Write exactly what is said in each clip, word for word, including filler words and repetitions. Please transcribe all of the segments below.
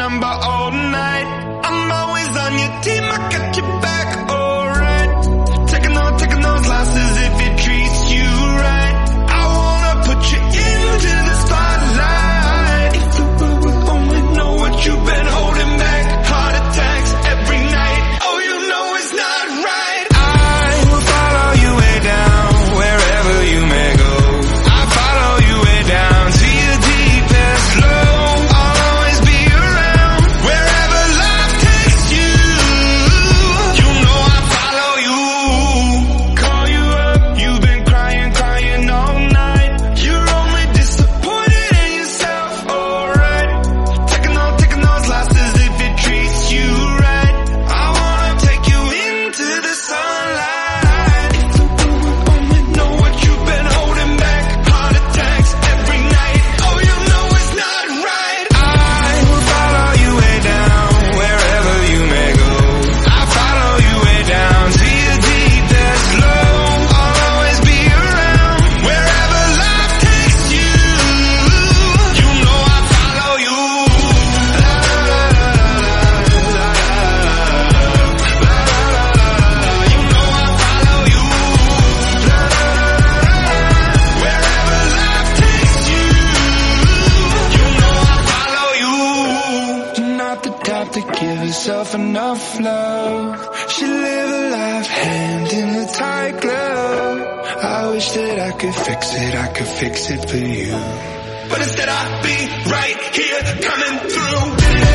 number all night. I'm always on your team, I got your back, alright. Taking on, taking those losses if it treats you right. I wanna put you into the spotlight. If the world would only know what you've been holding back. Heart attacks every night, oh you know it's not right. I will follow you way down, wherever you may go. I follow you way down to your deepest low. I'll always be around, wherever life takes you. You know I follow you. Call you up, you've been crying, crying all night. You're only disappointed in yourself, alright. Taking on, taking those losses if it treats you right. I wanna take you into the sunlight. If the world would only know what you've been holding back. Heart attacks every night, oh you know it's not right. I will follow you way down, wherever you may go. I follow you way down to your deepest low. I'll always be around, wherever life takes you. You know I follow you. La la la la la la la la. You know I follow you. La la la la la. Wherever life takes you. You know I follow you. You're not the type to give yourself enough love. Should live a life hand in a tight glove. I wish that I could fix it, I could fix it for you. But instead I'd be right here coming through.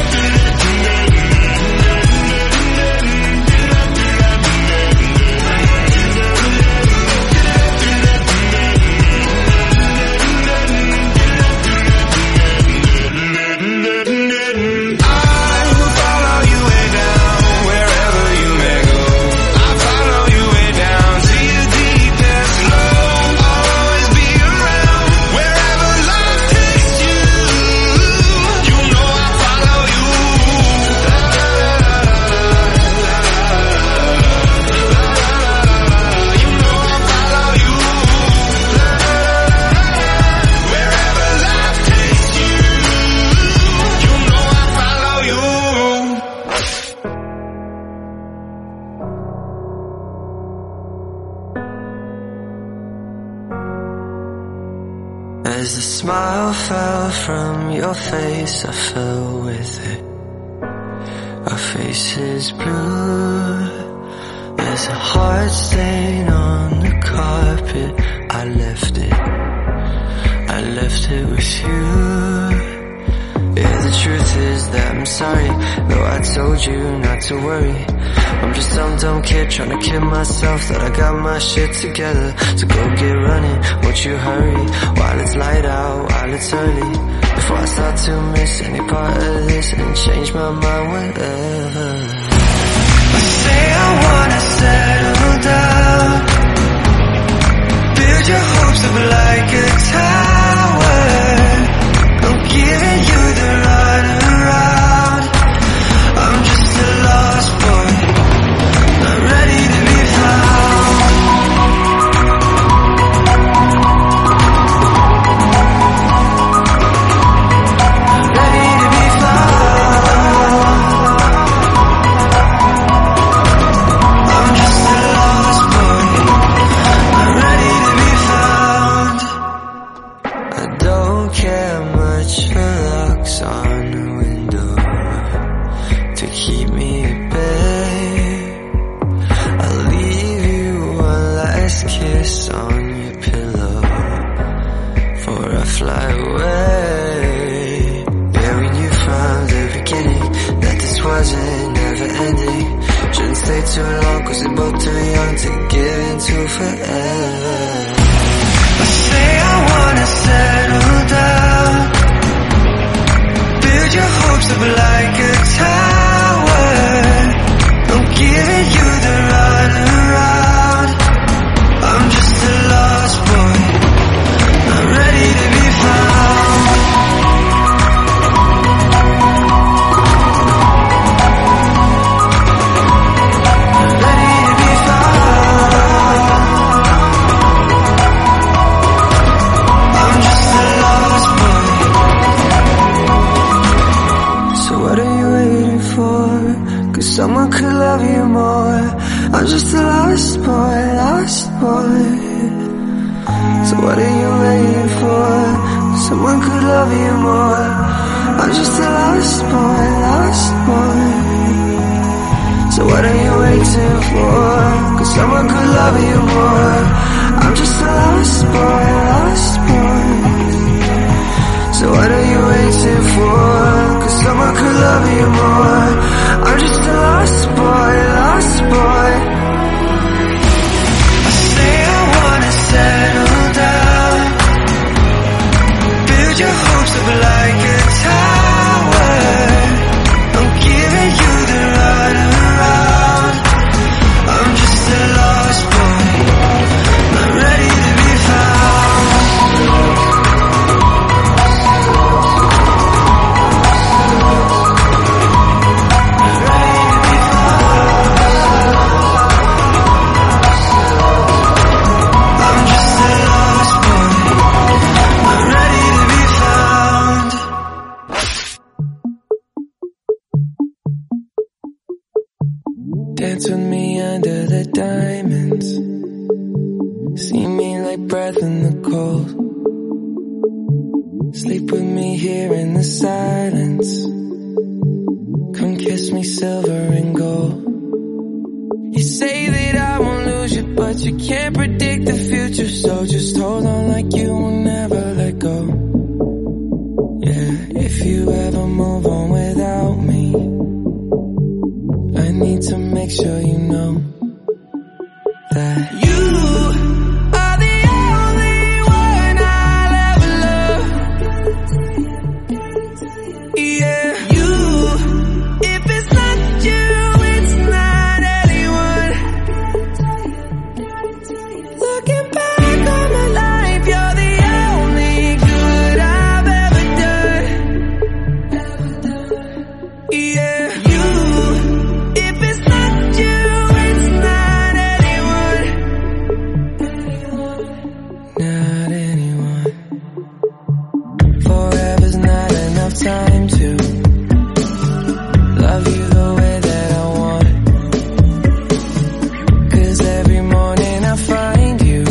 I will follow you way down, wherever you may go. I follow you way down to your deepest low. I'll always be around, wherever life takes you. You know I follow you. La la la la la la. You know I follow you. La la la la. Wherever life takes you. You know I follow you. As the smile fell from your face, I fell with it. Our faces blue. There's a heart stain on the carpet. I left it. I left it with you. Yeah, the truth is that I'm sorry, though I told you not to worry. I'm just some dumb kid trying to kid myself that I got my shit together. So go get running, won't you hurry, while it's light out, while it's early, before I start to miss any part of this and change my mind whenever. I say I wanna settle down, build your hopes up like a tower. I'm giving you the runaround. I'm just a lost boy, not ready to be found. Ready to be found. I'm just a lost boy, not ready to be found. I don't care much for locks on the window to keep me at bay. I'll leave you one last kiss on your pillow before I fly away. Yeah, we knew from the beginning that this wasn't never ending. Shouldn't stay too long cause we're both too young to give into forever. I say I wanna settle down, build your hopes up like a tower. I'm giving you the runaround. I'm just a lost boy, not ready to be found. Ready to be found. I'm just a lost boy. So someone could love you more. I'm just a lost boy, lost boy. So what are you waiting for? Someone could love you more. I'm just a lost boy, lost boy. So what are you waiting for? Cause someone could love you more. I'm just a lost boy, lost boy. So what are you waiting for? Cause someone could love you more. I'm just a lost boy, lost boy. I say I wanna settle down, build your hopes up like a tower. I'm giving you the runaround. I'm just a lost boy, not ready to be found. Dance with me under the diamonds, see me like breath in the cold. Sleep with me here in the silence, come kiss me silver and gold. You say that I won't lose you, but you can't predict the future, so just hold on like you will never let go. Yeah, if you ever move on without me, I need to make sure you know that you are the only one I'll ever love. Yeah, you, if it's not you, it's not anyone. Looking back on my life, you're the only good I've ever done. Yeah, you, if it's not you, it's not anyone. Not anyone. Forever's not enough time to love you the way that I want. Cause every morning I find you,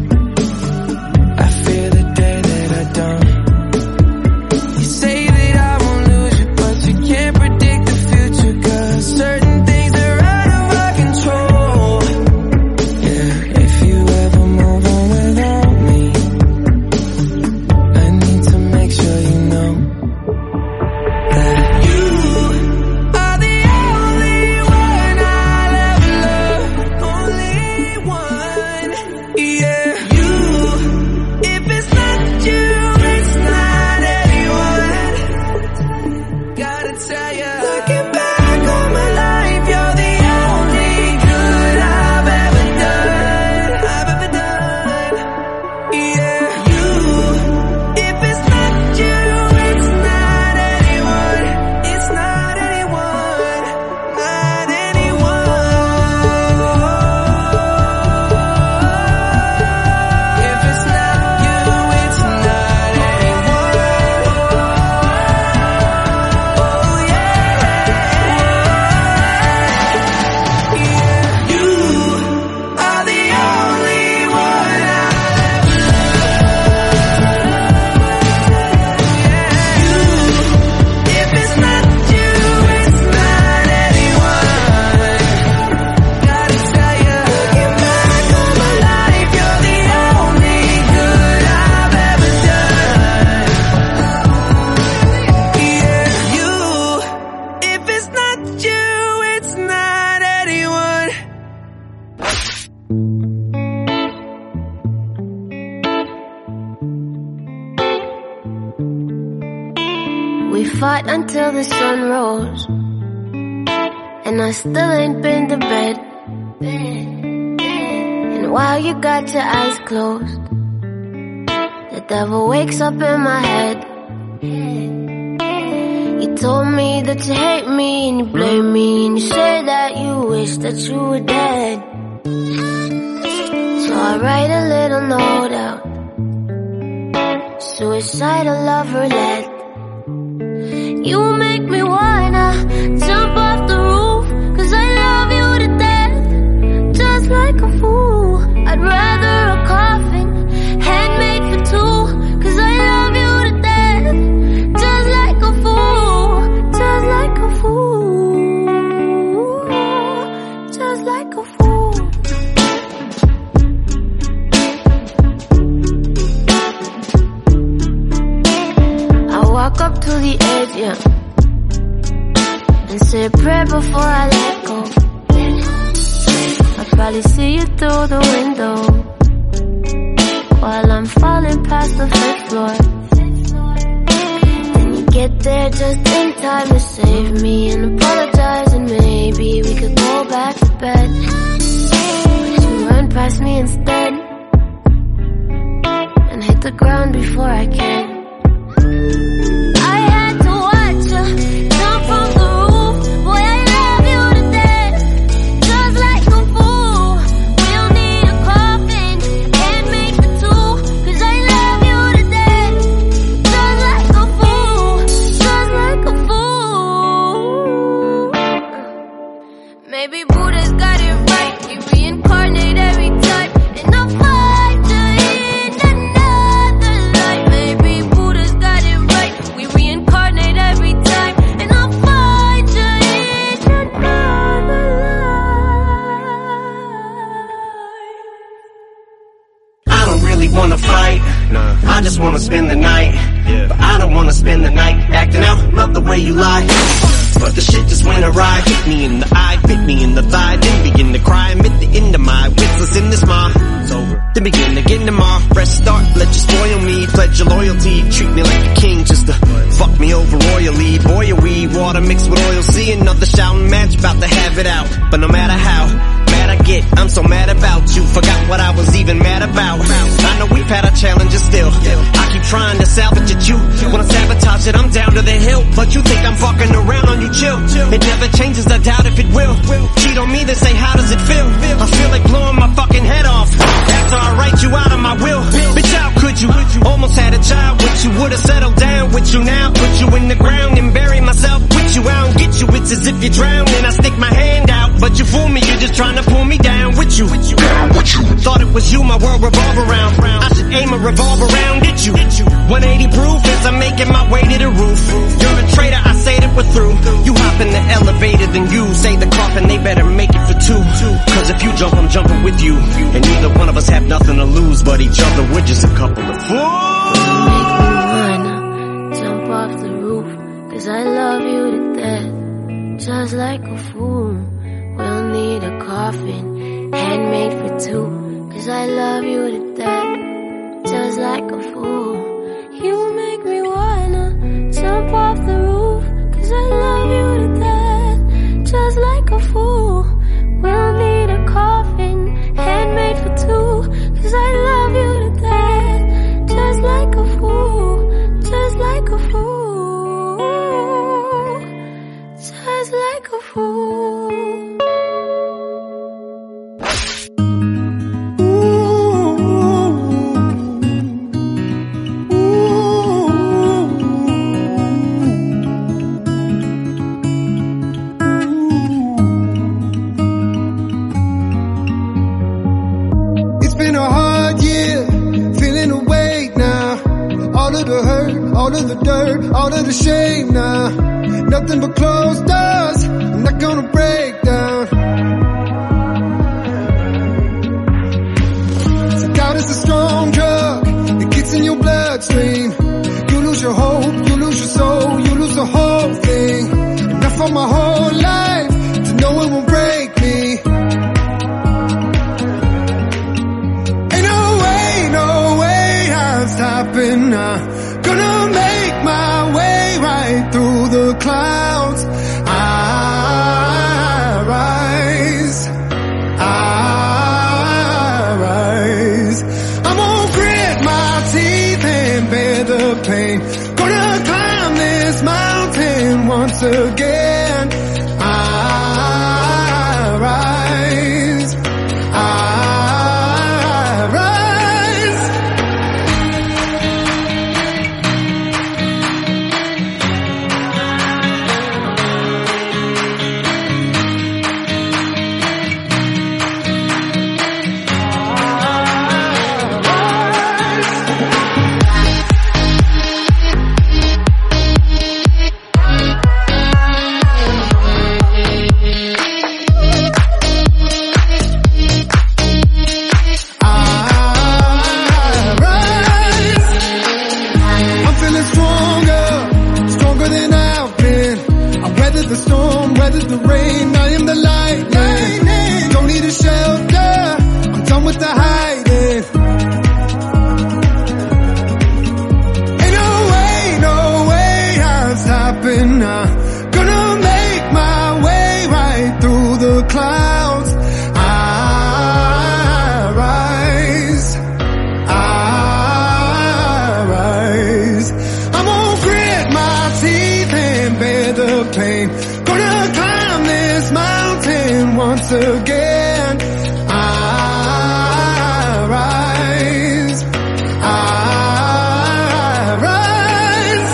I fear the day that I don't. You say that I won't lose you, but you can't predict the future, cause certain things are out of our control. Yeah, if you ever move on without me, I need to make sure you know that you are the only one I'll ever love. Only one. Yeah, you, if it's not you, it's not anyone. Gotta tell ya, looking back on my life, you're the only good I've ever done. I've ever done. Yeah, you, if it's not you, it's not anyone. It's not anyone. Not anyone. If it's not you, it's not anyone. Oh yeah. Yeah, you are the only one I'll ever love. You, if it's not you, it's not anyone. Gotta tell ya, looking back on my life, you're the only good I've ever done. Yeah, you, if it's not you, it's not anyone. We fought until the sun rose, and I still ain't been to bed. And while you got your eyes closed, the devil wakes up in my head. You told me that you hate me and you blame me, and you say that you wish that you were dead. So I write a little note out, suicidal love roulette. You make me wanna jump off the roof, and say a prayer before I let go. I'll probably see you through the window while I'm falling past the fifth floor. Then you get there just in time to save me and apologize, and maybe we could go back to bed. But you run past me instead and hit the ground before I can. I had to watch you jump from the roof. Boy, I love you to death, just like a fool. We'll need a coffin and make the two, 'cause I love you to death, just like a fool, just like a fool. Maybe Buddha's got it right, we reincarnate every time, and I'll find you in another life. Maybe Buddha's got it right, we reincarnate every time, and I'll find you in another life. I don't really wanna fight, nah. I just wanna spend the night, yeah. But I don't wanna spend the night acting out, love the way you lie. But the shit just went awry, hit me in the eye, bit me in the thigh, then begin to cry, admit the end of my wits, let's end this ma. It's over. Then begin again tomorrow, fresh start, let you spoil me, pledge your loyalty, treat me like a king just to fuck me over royally. Boy, a weed, water mixed with oil, see another shouting match, about to have it out. But no matter how mad I get, I'm so mad about you, forgot what I was even mad about. I know we've had our challenges still, I keep trying to salvage at you. Wanna sabotage it, I'm down to the hill, but you think I'm fucking around on you, chill. It never changes, I doubt if it will. Cheat on me, then say how does it feel? I feel like blowing my fucking head off after I write you out of my will. Bitch, how could you? Almost had a child with you, would've settled down with you now. Put you in the ground and bury myself with you. I don't get you, it's as if you're drowning. I stick my hand out, but you fool me, you're just trying to pull me down with you. Thought it was you my world revolve around. I should aim a revolver around at you. one eighty proof as I'm making my way to the roof. You're a traitor, I say that we're through. You hop in the elevator, then you say the coffin, they better make it for two. Cause if you jump, I'm jumping with you, and neither one of us have nothing to lose but each other. We're just a couple of fools. Make me wanna jump off the roof, 'cause I love you to death, just like a fool. We'll need a coffin, handmade for two, 'cause I love you to death, just like a fool. You make me wanna jump off the roof, 'cause I love you to death, just like a fool. We'll need a coffin, handmade for two, 'cause I love you to death, just like a fool, just like a fool, just like a fool. All of the dirt, all of the shame now, nothing but closed doors, I'm not gonna break down. So doubt is a strong drug, it gets in your bloodstream. You lose your hope, you lose your soul, you lose the whole thing. Enough for my whole life to know it won't break me. Ain't no way, no way I'm stopping now. Gonna make my way right through the clouds. I rise, I rise. I'm gonna grit my teeth and bear the pain. Gonna climb this mountain once again. I rise, I rise. storm, weather the rain. I am the lightning. Don't need a shelter, I'm done with the hiding. Ain't no way, no way I'm stopping now. Gonna make my way right through the clouds. I rise, I rise. I'm gonna grit my teeth and bear the pain. Gonna climb this mountain once again. I rise, I rise.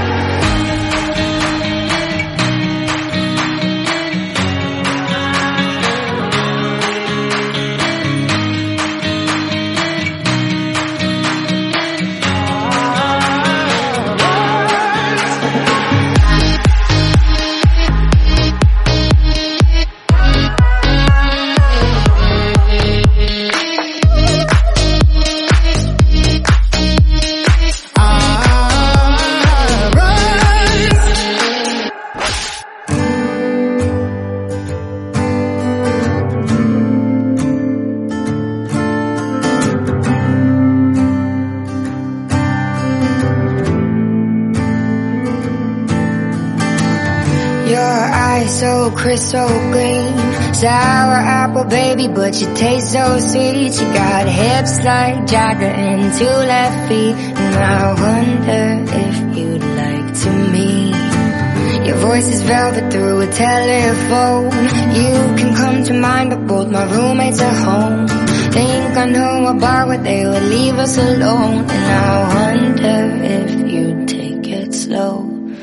Your eyes so crystal green, sour apple baby, but you taste so sweet. You got hips like Jagger and two left feet, and I wonder if you'd like to meet. Your voice is velvet through a telephone. You can come to mind, but both my roommates are home. Think I know a bar where they would leave us alone, and I wonder if you'd take it slow.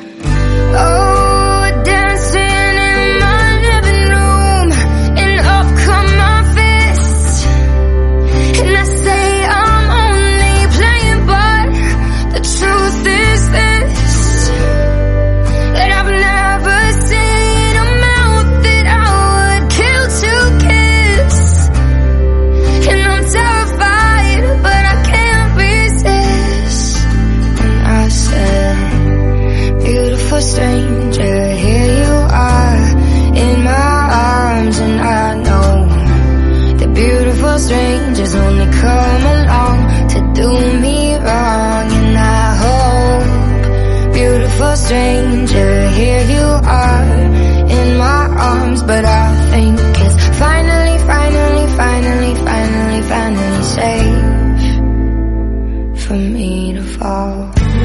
Oh, dancing in my living room, and up come my fists, and I say I'm only playing, but the truth is this, that I've never seen a mouth that I would kill to kiss, and I'm terrified, but I can't resist. And I said, beautiful stranger, here you are in my arms, and I know that beautiful strangers only come along to do me wrong. And I hope, beautiful stranger, here you are in my arms, but I think it's finally, finally, finally, finally, finally safe for me to fall.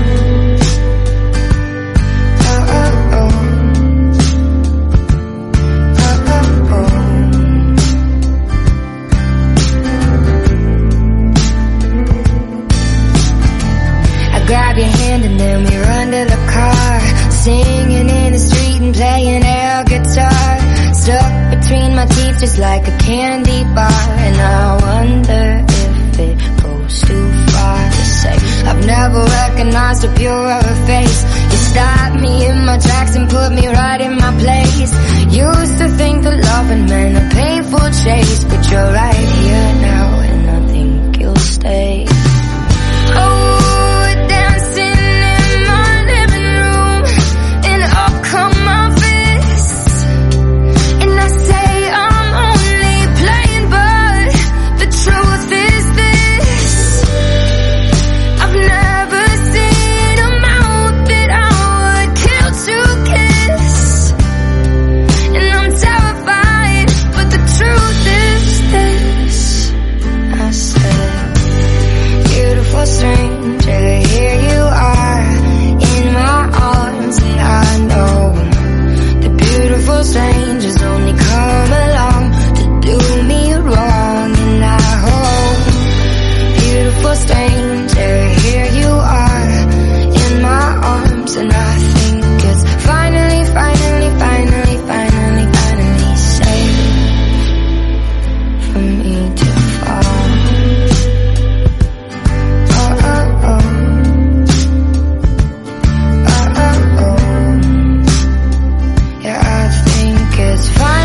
Grab your hand and then we run to the car, singing in the street and playing air guitar, stuck between my teeth just like a candy bar. And I wonder if it goes too far to say I've never recognized a purer face. You stopped me in my tracks and put me right in my place. Used to think that loving meant a painful chase, but you're right here now and I think you'll stay. Oh, stranger, here you are in my arms, and I know the beautiful strangers only come along to do me wrong. And I hope, beautiful stranger, here you are in my arms, and I think it's finally, finally, finally, finally, finally safe for me to fall. It's fine.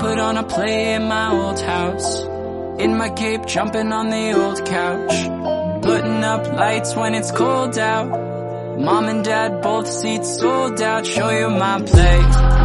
put on a play in my old house, in my cape, jumping on the old couch, putting up lights when it's cold out. Mom and dad, both seats sold out. Show you my play.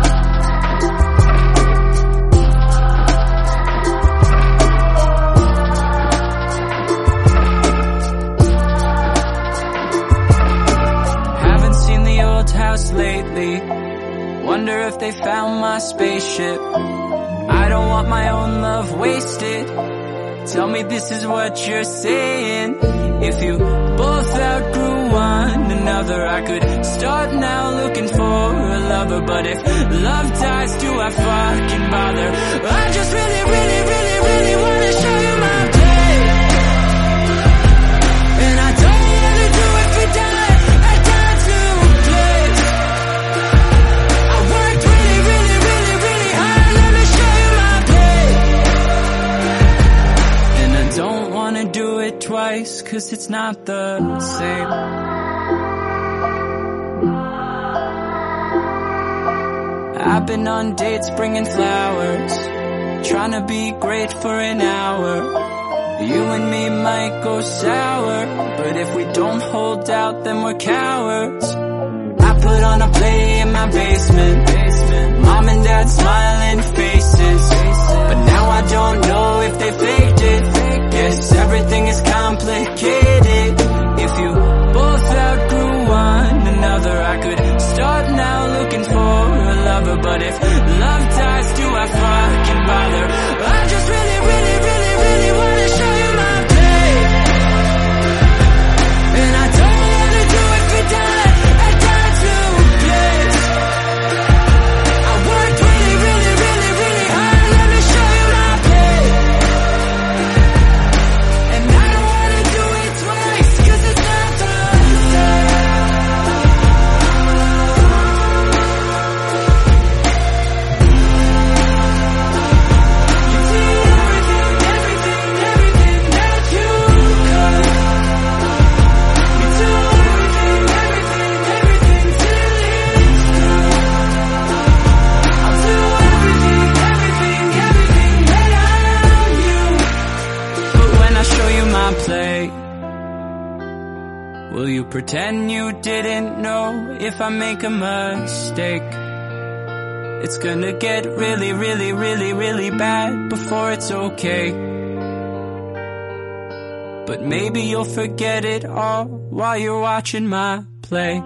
Haven't seen the old house lately. Wonder if they found my spaceship. I don't want my own love wasted. Tell me this is what you're saying. If you both outgrew one another, I could start now looking for a lover. But if love dies, do I fucking bother? I just really, really, really, really wanna show you my play. And I don't wanna do it for die. I die to play. I worked really, really, really, really hard. Let me show you my play. And I don't wanna do it twice, cause it's not the same. I've been on dates bringing flowers, trying to be great for an hour. You and me might go sour, but if we don't hold out, then we're cowards. I put on a play in my basement, basement. Mom and dad smiling faces, but now I don't know if they faked it. Guess everything is complicated. If you both outgrew one another, I could start now looking for a lover. But if love dies, do I fucking bother? I just really, really, really, really wanna show you my play. And I don't wanna do it for die. I die to play. I worked really, really, really, really hard. Let me show you my play. And I don't wanna do it twice, cause it's not the same. You do everything, everything, everything that you could. You do everything, everything, everything till it's through. I'll do everything, everything, everything that I'm you. But when I show you my play, will you pretend you didn't know? If I make a mistake, it's gonna get really, really, really, really bad before it's okay. But maybe you'll forget it all while you're watching my play.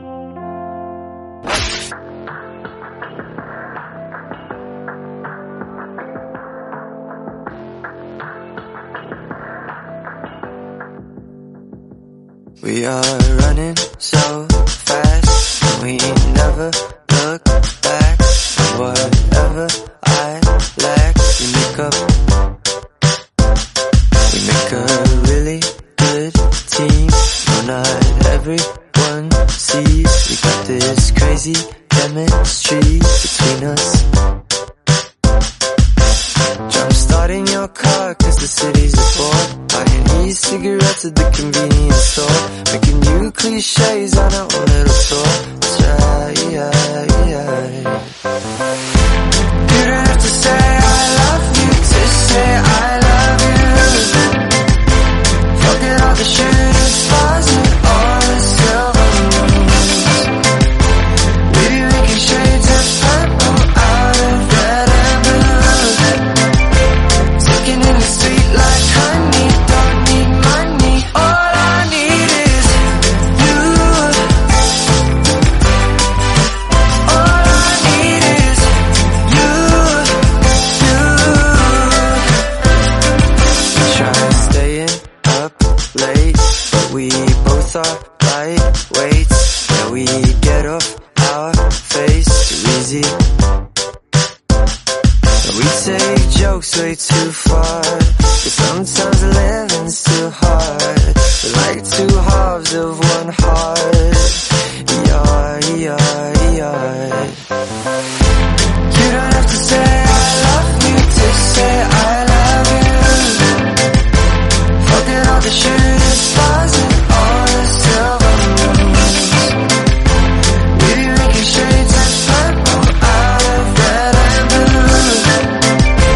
We are running so fast, and we never look back. And whatever I lack, we make up. We make a really good team. No, not everyone sees we got this crazy chemistry between us. Jump starting your car cause the city's a bore. Buying e-cigarettes at the convenience store. Making new cliches on our own little tour. That's right, yeah, yeah. You don't have to say I love you to say I love you. Forget all the shooting stars and all the silver moons. Maybe making shades of purple out of red and blue. Taking in the sweet like honey, don't need money. All I need is you. All I need is you, you. We try staying up late, but we both are lightweights. Yeah, we get off our face too easy. We take jokes way too far, but sometimes living's too hard. We're like two halves of one heart. Yeah, yeah, yeah. You don't have to say I love you to say I love you. Forget all the shooting stars and all the silver moons. Maybe making shades of purple out of red and blue.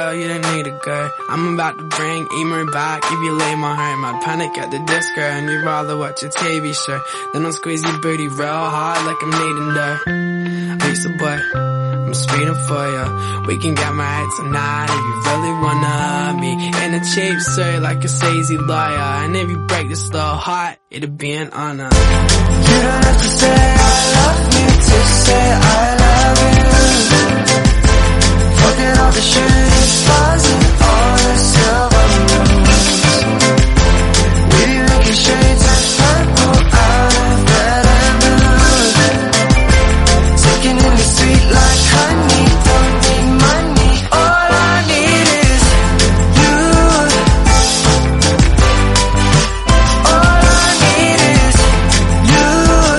girl, you don't need to go. I'm about to bring emo back. If you leave my home, I'd panic at the disco, and you'd rather watch a T V show. Then I'll squeeze your booty real hard like I'm needing dough. Lisa boy, I'm speeding for ya. We can get married tonight if you really wanna. Me in a cheap suit like a sleazy lawyer, and if you break this little heart, it'll be an honor. You don't have to say I love me to say I love you. Forget all the shooting stars and all the silver moons. We be making shades of purple out of red and blue. Taking in the sweet like honey, don't need money. All I need is you. All I need is you,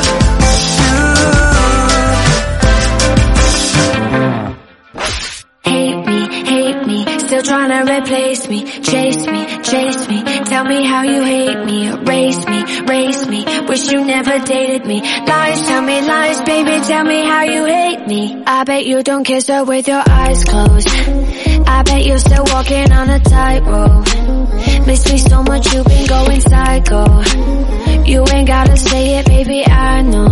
you. Hate me, hate me, still trying to replace me. Chase me, chase me, tell me how you hate me. Erase me, race me, wish you never dated me. Lies, tell me lies, baby, tell me how you hate me. I bet you don't kiss her with your eyes closed. I bet you're still walking on a tightrope. Miss me so much, you've been going psycho. You ain't gotta say it, baby, I know.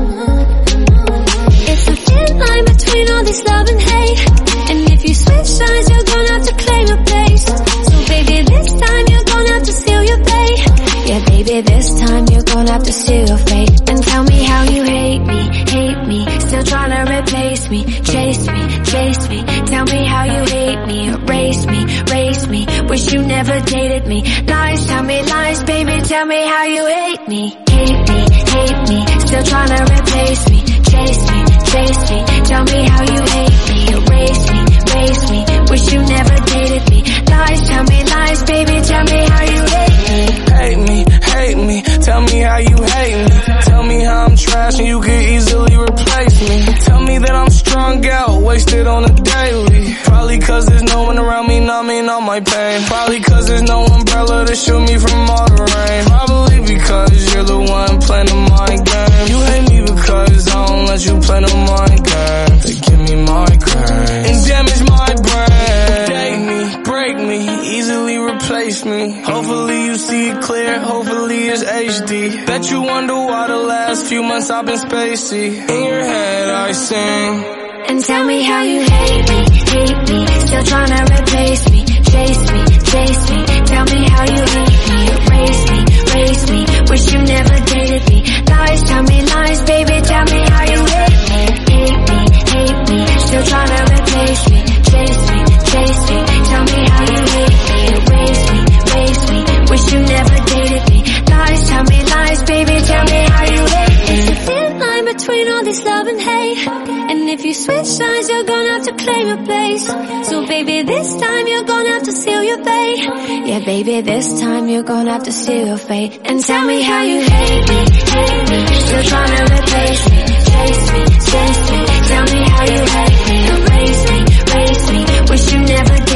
It's a thin line between all this love and hate, and if you switch sides, you're gonna have to claim your place. So baby, this time you're gonna have to seal your fate. Yeah, baby, this time you're gonna have to seal your fate. And tell me how you hate me, hate me, still trying to replace me. Chase me, chase me, tell me how you hate me. Erase me, race me, wish you never dated me. Lies, tell me lies, baby, tell me how you hate me. Hate me, hate me, still trying to replace me. Chase me, chase me, tell me how you hate me. Erase me, race me, wish you never dated me. Lies, tell me lies, baby, tell me how you hate me. Hate me, hate me, tell me how you hate me. Tell me how I'm trash and you could easily replace me. Tell me that I'm strung out, wasted on a daily. Probably cause there's no one around me numbing all my pain. Probably cause there's no umbrella to shield me from all the rain. Probably because you're the one playing the mind game. You hate me because I don't let you play no mind game. They give me migraine and damage my brain. Date me, break me, easily replace me. Hopefully you see it clear, hopefully it's H D. Bet you wonder why the last few months I've been spacey. In your head I sing. And tell me how you hate me, hate me, still trying to replace me. Chase me, chase me, tell me how you hate me. Erase me, race me, wish you never dated me. Lies, tell me lies, baby, tell me how you hate me. Hate me, hate me, still trying to replace me. Chase me, chase me, tell me how you hate me. Erase me, race me, wish you never dated me. Lies, tell me lies, baby, tell me how you hate me. It's a thin line between all this love and hate, and if you switch sides, you're gonna have to claim your place. So baby, this time you're gonna have to seal your fate. Yeah, baby, this time you're gonna have to seal your fate. And tell me how you hate me, hate me, still trying to replace me. Chase me, chase me, tell me how you hate me. Erase me, race me, wish you never